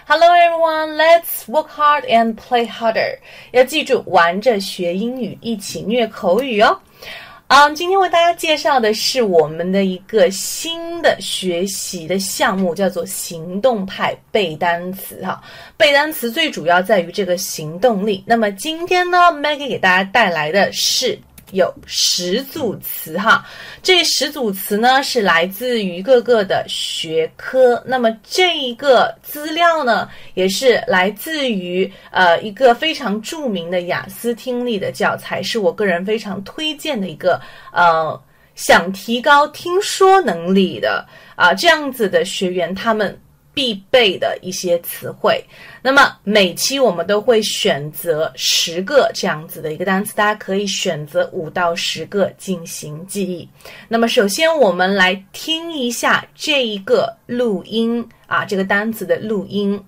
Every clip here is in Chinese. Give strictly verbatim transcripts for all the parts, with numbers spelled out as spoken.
Hello everyone, let's work hard and play harder. 要记住，玩着学英语，一起虐口语哦。嗯，今天为大家介绍的是我们的一个新的学习的项目，叫做行动派背单词哈。背单词最主要在于这个行动力。那么今天呢 Maggie 给大家带来的是有十组词哈，这十组词呢是来自于各个的学科。那么这一个资料呢，也是来自于呃一个非常著名的雅思听力的教材，是我个人非常推荐的一个呃想提高听说能力的啊、呃、这样子的学员他们必备的一些词汇。那么每期我们都会选择十个这样子的一个单词，大家可以选择五到十个进行记忆。那么首先我们来听一下这一个录音啊，这个单词的录音。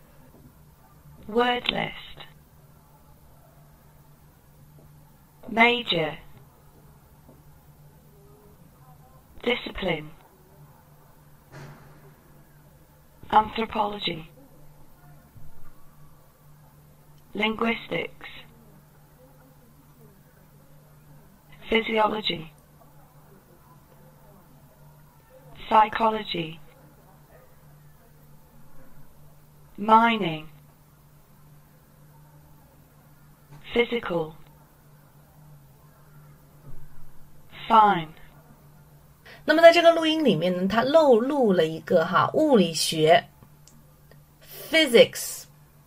Word list. Major. Discipline. Anthropology. Linguistics. Physiology. Psychology. Mining. Physical. Fine. 那么在这个录音里面呢，它漏录了一个哈物理学 physics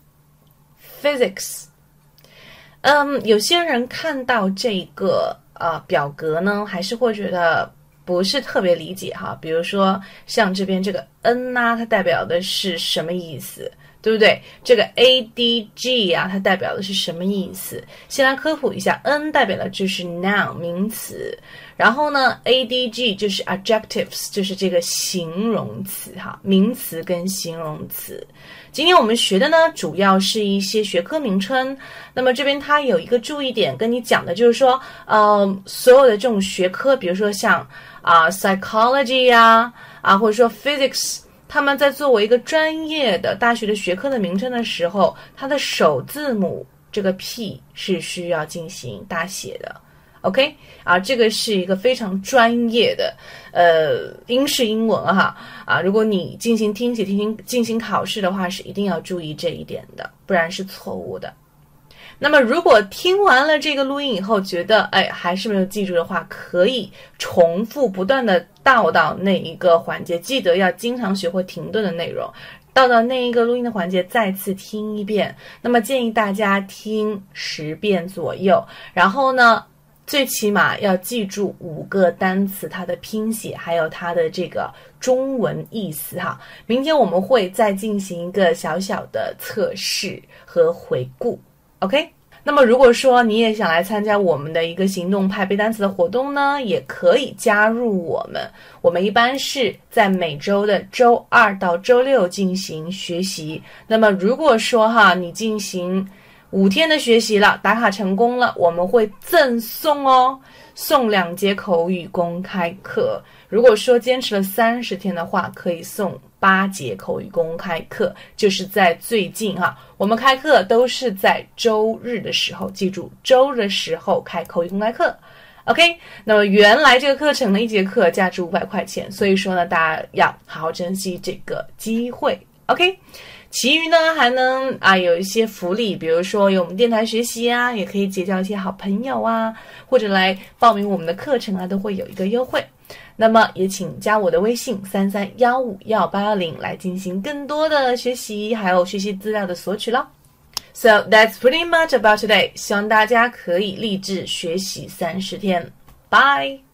physics。 嗯，有些人看到这个呃表格呢，还是会觉得不是特别理解哈。比如说像这边这个 N 啊，它代表的是什么意思，对不对？这个 A D G 啊，它代表的是什么意思？先来科普一下， N 代表的就是 noun 名词，然后呢 A D G 就是 adjectives， 就是这个形容词哈，名词跟形容词。今天我们学的呢，主要是一些学科名称。那么这边它有一个注意点跟你讲的，就是说呃，所有的这种学科，比如说像啊、呃、psychology 啊啊，或者说 physics，他们在作为一个专业的大学的学科的名称的时候，它的首字母这个 P 是需要进行大写的 OK 啊，这个是一个非常专业的呃英式英文哈啊，如果你进行听写进行进行考试的话，是一定要注意这一点的，不然是错误的。那么如果听完了这个录音以后觉得哎还是没有记住的话，可以重复不断的倒到那一个环节，记得要经常学会停顿的内容，倒到那一个录音的环节再次听一遍。那么建议大家听十遍左右，然后呢最起码要记住五个单词它的拼写还有它的这个中文意思哈。明天我们会再进行一个小小的测试和回顾OK， 那么如果说你也想来参加我们的一个行动派背单词的活动呢，也可以加入我们。我们一般是在每周的周二到周六进行学习。那么如果说哈你进行五天的学习了，打卡成功了，我们会赠送哦，送两节口语公开课。如果说坚持了三十天的话，可以送八节口语公开课，就是在最近哈，我们开课都是在周日的时候，记住周日的时候开口语公开课 OK。 那么原来这个课程呢，一节课价值五百块钱，所以说呢大家要好好珍惜这个机会 OK。其余呢还能啊有一些福利，比如说有我们电台学习啊，也可以结交一些好朋友啊，或者来报名我们的课程啊，都会有一个优惠。那么也请加我的微信三三一五一八幺零来进行更多的学习还有学习资料的索取咯。 So that's pretty much about today， 希望大家可以立志学习三十天。 Bye。